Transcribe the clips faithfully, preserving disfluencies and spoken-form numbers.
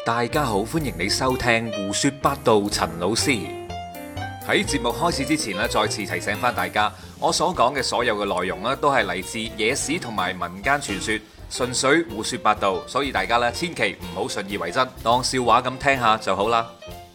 大家好，歡迎你收聽胡說八道。陳老師喺節目開始之前咧，再次提醒翻大家，我所講嘅所有嘅內容咧，都係嚟自野史同埋民間傳說，純粹胡說八道，所以大家咧千祈唔好信以為真，當笑話咁聽下就好啦。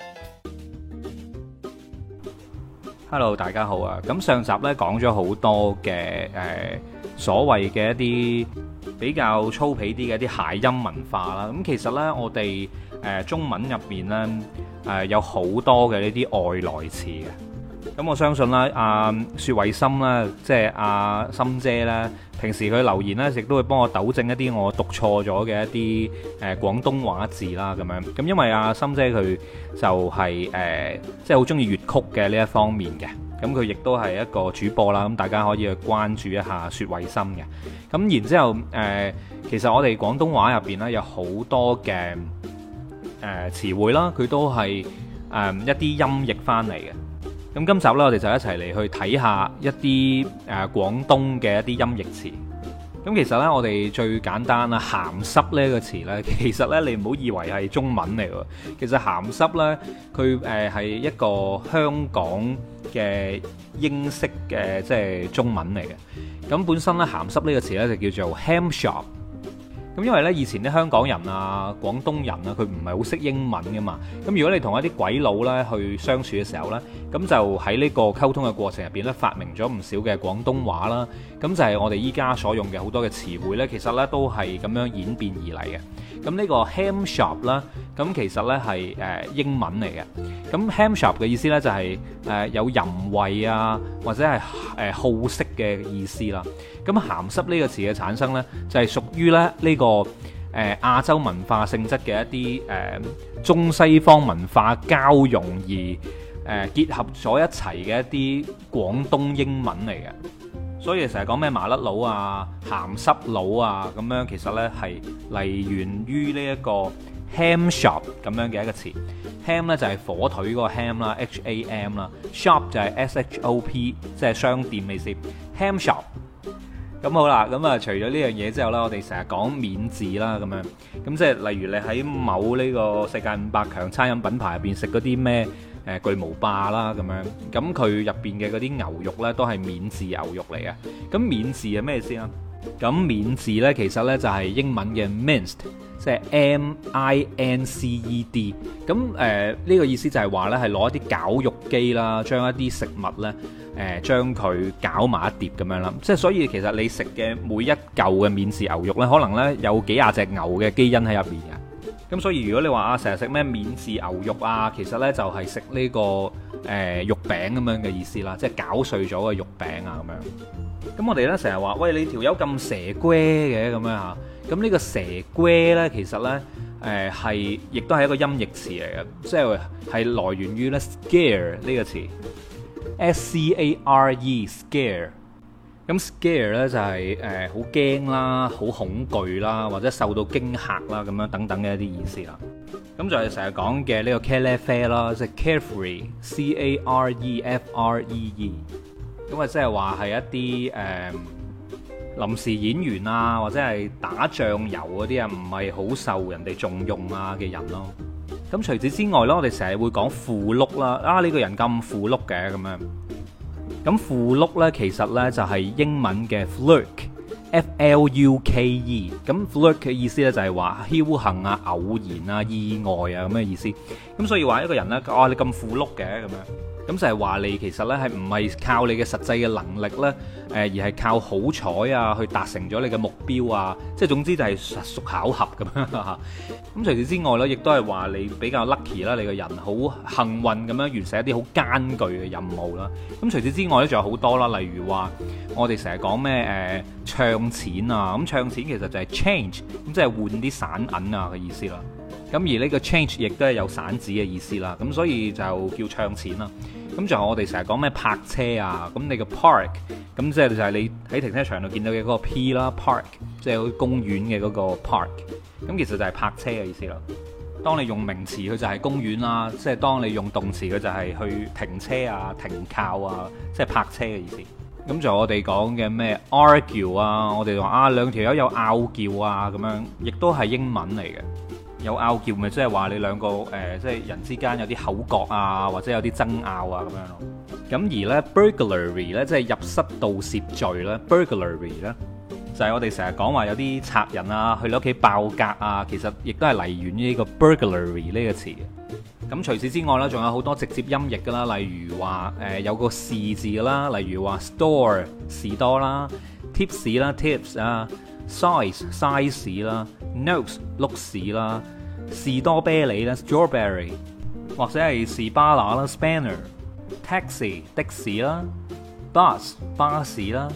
Hello， 大家好啊！咁上集咧講咗好多嘅誒、呃、所謂嘅一啲比較粗鄙啲嘅一啲諧音文化啦。咁其實呢，我哋誒、呃、中文入面呢，誒、呃、有好多嘅呢啲外來詞嘅。咁我相信啦，阿薛慧心啦，即係阿心姐啦，平時佢留言呢，亦都會幫我糾正一啲我讀錯咗嘅一啲誒廣東話字啦，咁樣。咁因為阿心姐佢就係、是、誒、呃，即係好中意粵曲嘅呢一方面嘅。咁佢亦都係一個主播啦，咁大家可以去關注一下薛慧心嘅。咁然之後誒、呃，其實我哋廣東話入邊呢，有好多嘅誒詞彙啦，佢都係誒、呃、一啲音譯翻嚟嘅。咁今集呢，我哋就一齊嚟去睇下一啲誒、呃、廣東嘅一啲音譯詞。咁其實呢，我哋最簡單啦，鹹濕呢個詞呢，其實呢，你唔好以為係中文嚟喎。其實鹹濕呢，佢誒係一個香港嘅英式嘅即係中文嚟嘅。咁本身呢，鹹濕呢個詞呢，就叫做 ham shop。咁因為呢，以前啲香港人啊、廣東人啊，佢唔係好識英文噶嘛。咁如果你同一啲鬼佬呢去相處嘅時候呢，咁就喺呢個溝通嘅過程入邊呢，發明咗唔少嘅廣東話啦。咁就係我哋依家所用嘅好多嘅詞彙呢，其實呢都係咁樣演變而嚟嘅。咁呢個 ham shop 啦，咁其實呢係誒英文嚟嘅。咁 ham shop 嘅意思呢，就係誒有淫穢啊，或者係誒好色嘅意思啦。咁鹹濕呢個詞嘅產生呢，就係屬於咧呢個誒亞洲文化性質嘅一啲誒中西方文化交融而誒結合咗一齊嘅一啲廣東英文嚟嘅。所以成日講咩麻甩佬啊、鹹濕佬啊咁樣，其實呢係嚟源於呢一個 ham shop 咁樣嘅一個詞。ham 呢就係火腿嗰個 ham 啦 ，H A M 啦 ，shop 就係 S H O P， 即係商店嘅意思。ham shop。咁好啦，咁啊除咗呢樣嘢之後啦，我哋成日講免治啦，咁樣，咁即係例如你喺某呢個世界五百強餐飲品牌入邊食嗰啲咩誒巨無霸啦，咁樣，咁佢入邊嘅嗰啲牛肉呢，都係免治牛肉嚟嘅。咁免治係咩意思啊？咁免治呢，其實呢就係英文嘅 minced，即係 M I N C E D。咁誒呢個意思就係話呢係攞一啲絞肉機啦，將一啲食物呢。誒將佢攪埋一碟咁樣啦，即係所以其實你食嘅每一嚿嘅免治牛肉呢，可能呢有幾廿隻牛嘅基因喺入面嘅。咁所以如果你話啊，成日食咩免治牛肉啊，其實呢就係食呢個誒、呃、肉餅咁樣嘅意思啦，即係攪碎咗嘅肉餅啊咁樣。咁我哋呢成日話，喂，你條友咁蛇龜嘅咁樣嚇，咁呢個蛇龜呢，其實呢誒係亦都係一個音譯詞嚟嘅，即係係來源於呢 scare 呢個詞。S C A R E scare， 咁 scare 咧就係誒好驚啦、好恐懼啦，或者受到驚嚇啦咁樣等等嘅一啲意思啦。咁就係成日講嘅呢個 carefree 啦，即係 carefree，C A R E F R E E。咁啊，即係話係一啲誒臨時演員啊，或者係打醬油嗰啲啊，唔係好受人哋重用啊嘅人咯。咁除此之外咧，我哋成日會講符碌啦，啊呢個人咁符碌嘅咁樣。咁符碌咧，其實咧就係英文嘅 fluke，F L U K E。咁 fluke 嘅意思咧就係話僥倖啊、偶然啊、意外啊咁嘅意思。咁所以話一個人咧，啊你咁符碌嘅咁樣，咁就係話你其實咧係唔係靠你嘅實際嘅能力咧，誒而係靠好彩啊去達成咗你嘅目標啊，即係總之就係實屬巧合咁樣嚇。咁除此之外咧，亦都係話你比較 lucky 啦，你個人好幸運咁樣完成一啲好艱巨嘅任務啦。咁除此之外咧，仲有好多啦，例如話我哋成日講咩誒唱錢啊，咁唱錢其實就係 change，咁即係換啲散銀啊嘅意思啦。咁而呢個 change 亦都係有散紙嘅意思啦，咁所以就叫唱錢啦。咁仲有我哋成日講咩泊車啊，咁你個 park，咁即係就係你喺停車場度見到嘅嗰個 P 啦 ，park，即係公園嘅嗰個 park，咁其實就係泊車嘅意思啦。當你用名詞，佢就係公園啦；即係當你用動詞，佢就係去停車啊、停靠啊，即係泊車嘅意思。咁就我哋講嘅咩 argue 啊，我哋話啊兩條友有拗撬啊咁樣，亦都係英文嚟嘅。 有拗撬咪即係話你兩個誒、呃，即係人之間有啲口角啊，或者有啲爭拗啊咁樣咯。咁而呢 burglary 呢，即係入室盜竊罪咧 burglary 呢，就係我哋成日講話有啲賊人啊去你屋企爆格啊，其實亦都係嚟源於呢個 burglary 呢個詞嘅。咁除此之外呢，仲有好多直接音譯噶啦，例如話誒、呃、有個士字啦，例如話 store 士多啦 ，tips 啦 tips 啊 ，size size 啦 ，notes 碌士啦，士多啤梨啦 strawberry， 或者係士巴拿啦 spanner，taxi 的士啦 ，bus 巴士啦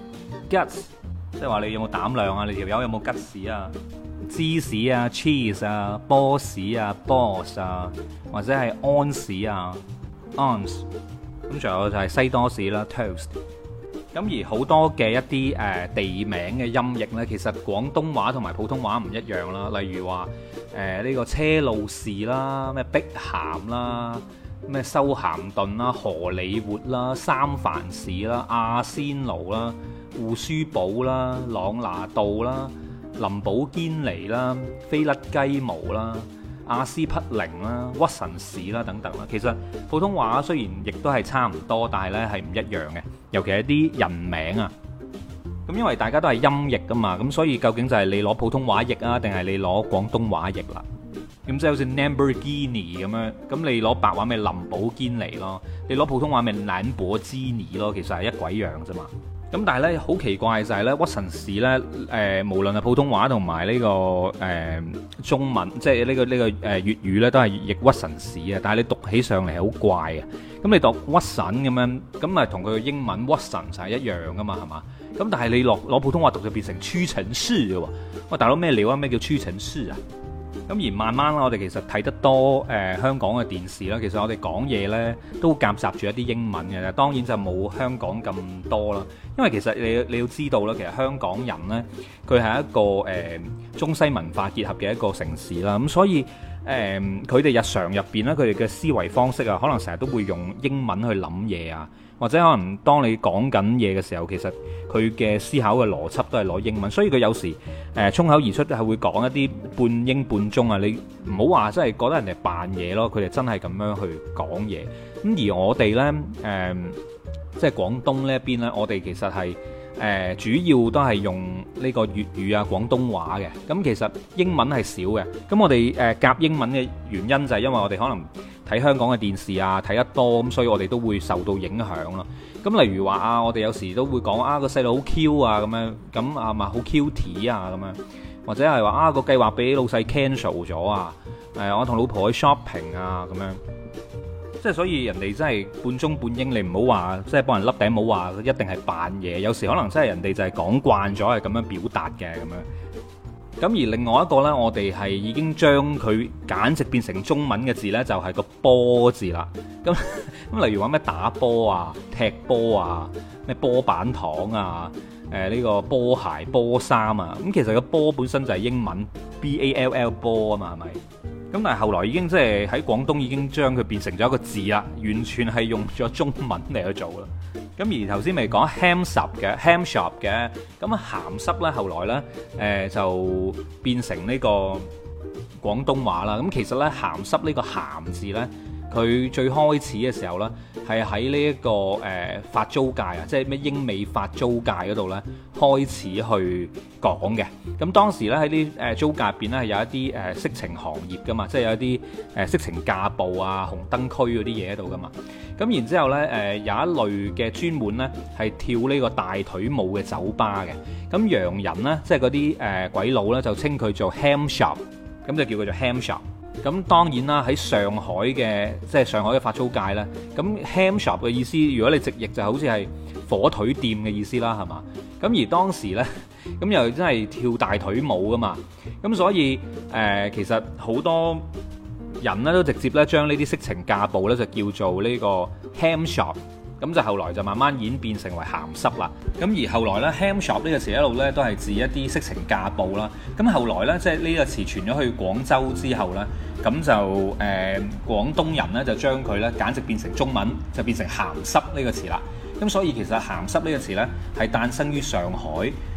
，guts 即係話你有冇膽量啊？你條友有冇吉士啊？芝士啊 cheese 啊，波士啊 boss 啊，或者係安士啊 ons， 咁仲有就係西多士啦 toast。咁而好多嘅一啲誒地名嘅音譯呢，其實廣東話同埋普通話唔一樣啦。例如話誒呢個車路士啦，咩碧咸啦，咩修咸頓啦，荷里活啦，三藩市啦，阿仙奴啦，胡舒堡啦，朗拿度啦，林寶堅尼啦，菲甩雞毛啦，阿司匹靈啦，屈臣氏啦等等啦。其實普通話雖然亦都係差唔多，但係呢係唔一樣嘅，尤其係啲人名啊。咁因為大家都係音譯噶嘛，咁所以究竟就係你攞普通話譯啊，定係你攞廣東話譯啦？咁即係好似 Lamborghini 咁樣，咁你攞白話咪林寶堅尼咯，你攞普通話咪蘭博基尼咯，其實係一鬼樣啫嘛。咁但係咧好奇怪就係咧屈臣氏咧誒，無論係普通話同埋呢個誒、呃、中文，即係呢個呢個誒粵語咧，都係譯屈臣氏嘅。但係你讀起上嚟係好怪嘅。咁你讀屈臣咁樣，咁咪同佢嘅英文屈臣就係一樣噶嘛，係嘛？咁但係你落攞普通話讀就變成屈臣氏嘅喎。喂，大佬咩料啊？咩叫屈臣氏啊？咁而慢慢啦，我哋其實睇得多誒、呃、香港嘅電視啦，其實我哋講嘢呢都夾雜住一啲英文嘅，當然就冇香港咁多啦。因為其實你你要知道啦，其實香港人呢，佢係一個誒、呃、中西文化結合嘅一個城市啦，咁所以誒佢哋日常入邊呢，佢哋嘅思維方式啊，可能成日都會用英文去諗嘢啊，或者可能當你講緊嘢嘅時候，其實佢嘅思考嘅邏輯都係攞英文，所以佢有時誒衝口而出係會講一啲半英半中啊！你唔好話真係覺得人哋扮嘢咯，佢哋真係咁樣去講嘢。咁而我哋呢，誒、呃，即係廣東呢一邊呢，我哋其實係誒、呃、主要都係用呢個粵語啊廣東話嘅。咁其實英文係少嘅。咁我哋誒夾英文嘅原因就係因為我哋可能睇香港嘅電視啊睇得多，咁所以我哋都會受到影響咯。咁例如話啊，我哋有時都會講啊個細路好 Q 啊咁樣，咁啊咪好 cute 啊咁樣，或者係話啊個計劃俾老細 cancel 咗啊，誒我同老婆去 shopping 啊咁樣，即係所以人哋真係半中半英，你唔好話即係幫人笠頂帽話一定係扮嘢，有時可能真係人哋就係講慣咗係咁樣表達嘅咁樣。咁而另外一個呢，我哋係已經將佢簡直變成中文嘅字呢，就係個波字啦。咁咁例如話咩打波啊、踢波啊、咩波板糖啊、誒呢個波鞋、波衫啊。咁其實個波本身就係英文 B A L L 波啊嘛，係咪？咁但係後來已經即係喺廣東已經將佢變成咗一個字啦，完全係用咗中文嚟去做啦。咁而頭先咪講 ham shop 嘅 ham shop 嘅，咁啊鹹濕咧後來咧誒、呃、就變成呢個廣東話啦。咁其實咧鹹濕呢個鹹字咧，佢最開始嘅時候咧係喺呢一個誒、呃、法租界啊，即係咩英美法租界嗰度咧開始去講嘅。咁當時咧喺啲誒租界入邊咧係有一啲誒色情行業噶嘛，即係有一啲誒色情架步啊、紅燈區嗰啲嘢喺度噶嘛。咁然之後呢，誒有一類嘅專門呢係跳呢個大腿舞嘅酒吧嘅。咁洋人呢，即係嗰啲誒鬼佬呢，就稱佢做 ham shop，咁就叫佢做 ham shop。咁當然啦，喺上海嘅即係上海嘅法租界呢，咁 ham shop 嘅意思，如果你直譯就好似係火腿店嘅意思啦，係嘛？咁而當時呢，咁又真係跳大腿舞噶嘛，咁所以誒、呃、其實好多人咧都直接咧將呢啲色情架步咧就叫做呢個 ham shop， 咁就後來就慢慢演變成為鹹濕啦。咁而後來咧 ham shop 呢個詞一路咧都係指一啲色情架步啦。咁後來咧即係呢個詞傳咗去廣州之後咧，咁就誒、呃、廣東人咧就將佢咧簡直變成中文，就變成鹹濕呢個詞啦。咁所以其實鹹濕呢個詞咧係誕生於上海，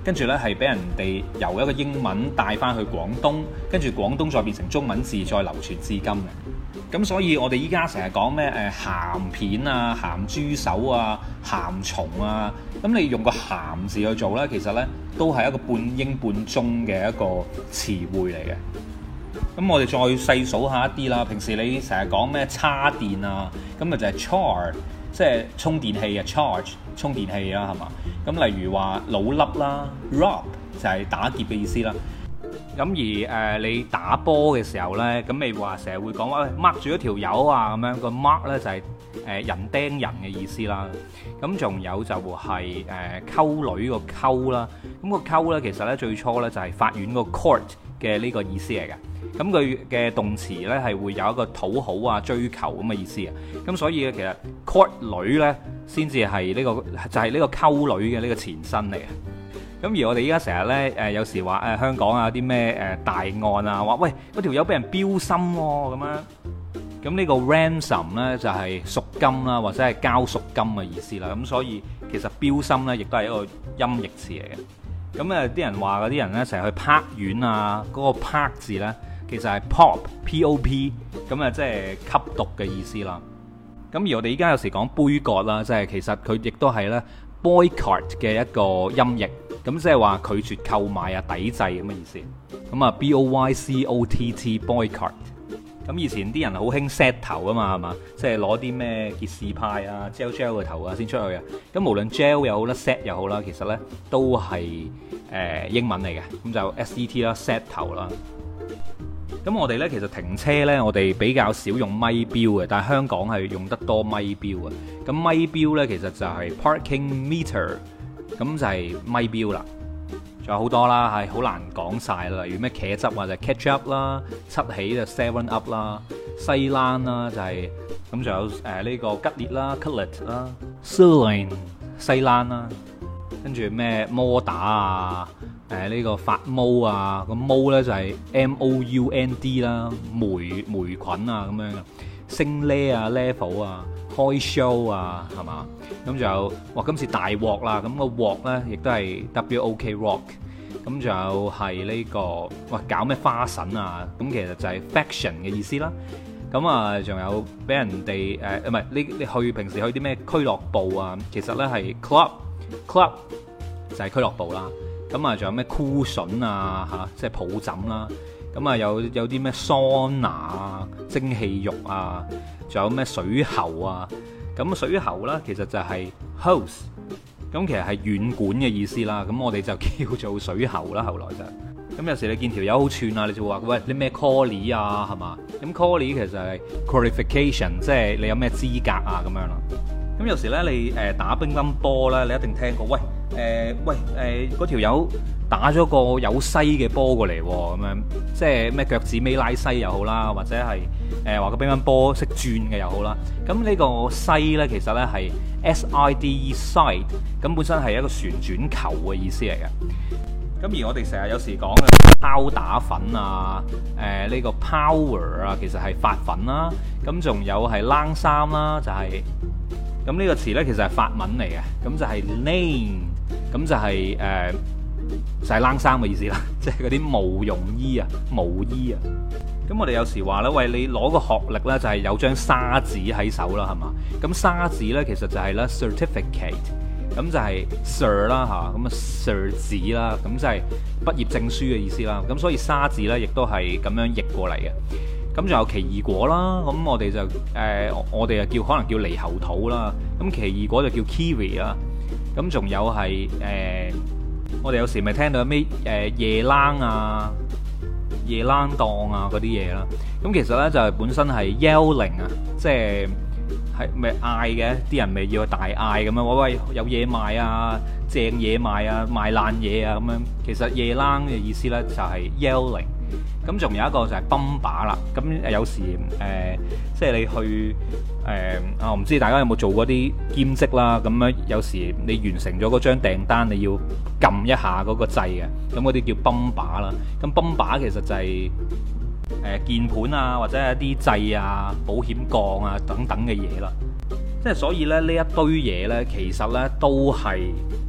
跟住呢係俾人哋由一個英文帶翻去廣東，跟住廣東再變成中文字，再流傳至今嘅。咁所以我哋依家成日講咩誒鹹片啊、鹹豬手啊、鹹蟲啊，咁你用個鹹字去做呢，其實呢都係一個半英半中嘅一個詞彙嚟嘅。咁我哋再細數下一啲啦。平時你成日講咩叉電啊，咁咪就係 char， 即係充電器啊 ，charge 充電器啊，係嘛？咁例如話老粒啦 ，rob 就係打劫嘅意思啦。咁而誒、呃、你打波嘅時候呢，咁你話成日會講話 mark 住一條友啊，咁樣個 mark 呢就係、是、誒、呃、人釘人嘅意思啦。咁仲有就係誒溝女個溝啦。咁、那個溝呢，其實呢最初呢就係法院個 court 嘅呢個意思嚟嘅。咁佢嘅動詞呢係會有一個討好啊、追求咁嘅意思啊。咁所以呢，其實 court 女呢先至係呢個就係、是、呢個溝女嘅呢個前身嚟嘅。咁而我哋依家成日呢，誒有時話誒香港啊啲咩誒大案啊，話喂嗰條友俾人標心喎咁樣。咁呢個 ransom 呢，就係贖金啦，或者係交贖金嘅意思啦。咁所以其實標心呢，亦都係一個音譯詞嚟嘅。咁誒啲人話嗰啲人呢，成日去拍院啊，嗰、嗰個拍字呢，其實係 pop，p o p， 咁啊即係吸毒嘅意思啦。咁而我哋依家有時講杯葛啦，即係其實佢亦都係呢 boycott 嘅一個音譯。咁即係話拒絕購買啊、抵制咁嘅意思。咁啊 B O Y C O T T boycott。咁以前啲人好興 set 頭啊嘛，係嘛？即係攞啲咩傑士派啊、gel gel 嘅頭啊先出去啊。咁無論 gel 又好啦、set 又好啦，其實呢都係誒、呃、英文嚟嘅。咁就 S E T 啦 ，set 頭啦。咁我哋呢，其實停車呢，我哋比較少用咪錶嘅，但係香港係用得多咪錶啊。咁咪錶呢，其實就係 parking meter。咁就係咪錶啦，仲有好多啦，係好難講晒啦。例如咩茄汁啊，就係 ketchup 啦；七喜就 seven up 啦；西蘭啦就係咁，仲有誒呢個吉列啦 cutlet 啦 sirloin 西蘭啦，跟住咩摩打啊，誒呢個發毛啊，個毛咧就係 M O U N D 啦，霉霉菌啊咁樣嘅，升 le 啊 level 啊。開 show 啊，係嘛？咁就哇，今次大鑊啦！咁、個鑊咧，亦都係 W O K rock。咁就係呢、呢個哇，搞咩花神啊？咁其實就係 faction 嘅意思啦。咁啊，仲有俾人哋誒，唔、呃、係你你去平時去啲咩俱樂部啊？其實咧係 club，club 就係俱樂部啦。咁啊，仲有咩 cushion 啊？嚇，即係抱枕啦。咁啊，有有啲咩桑拿啊、蒸汽浴啊。仲有咩水喉啊？咁水喉啦，其實就係 hose，咁其實係軟管嘅意思啦。咁我哋就叫做水喉啦。後來就咁有時你見條友好串啊，你就會話喂，你咩 quali 啊，係嘛？咁 quali 其實係 qualification，即係你有咩資格啊咁樣啦。咁有時咧你誒打乒乓波咧，你一定聽過喂誒、呃、喂誒嗰條友打咗個有西嘅波過嚟喎，咁樣即係咩腳趾尾拉西又好啦，或者係誒話個乒乓波識轉嘅又好啦。咁呢個西咧其實咧係 S I D E side，咁本身係一個旋轉球嘅意思嚟嘅。咁而我哋成日有時講嘅拋打粉啊，誒、呃、呢、呢個 power 啊，其實係發粉啦。咁仲有係冷衫啦，就係咁呢個詞咧，其實係法文嚟嘅。咁就係 lane，咁就係、是、誒、呃、就係、是、冷衫嘅意思啦，即係嗰啲毛絨衣啊、毛衣啊。咁我哋有時話咧，喂，你攞個學歷咧，就係有張沙紙喺手啦，係嘛？咁沙紙咧，其實就係咧 certificate。咁就係 Sir 啦嚇，咁啊 Sir 字啦，咁就係畢業證書嘅意思啦。咁所以沙字咧，亦都係咁樣譯過嚟嘅。咁仲有奇異果啦，咁我哋就誒、呃，我哋就叫可能叫獼猴桃啦。咁奇異果就叫 kiwi 啦。咁仲有係誒、呃，我哋有時咪聽到咩誒夜冷啊、夜冷檔啊嗰啲嘢啦。咁其實咧就係本身係 yelling 啊，即係。係咪嗌嘅？啲人咪要大嗌咁樣，喂喂，有嘢賣啊，正嘢賣啊，賣爛嘢啊咁樣。其實夜冷嘅意思咧就係 yelling。咁仲有一個就係泵把啦。咁誒有時誒、呃，即係你去誒啊，我唔知大家有冇做過啲兼職啦。咁樣有時你完成咗嗰張訂單，你要撳一下嗰個掣嘅。咁嗰啲叫泵把啦。咁泵把其實就係、是。誒鍵盤啊，或者係一啲掣啊、保險槓啊等等嘅嘢啦，即係所以咧呢一堆嘢呢，其實呢都係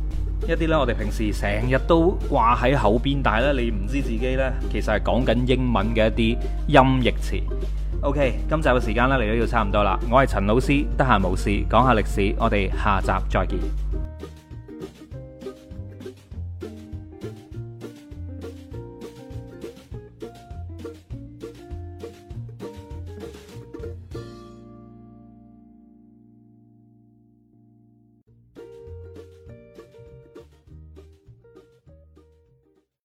一啲呢，我哋平時成日都掛喺口邊，但係咧你唔知自己呢，其實係講緊英文嘅一啲音譯詞。OK，今集嘅時間呢，嚟到要差唔多啦。我係陳老師，得閒無事講下歷史，我哋下集再見。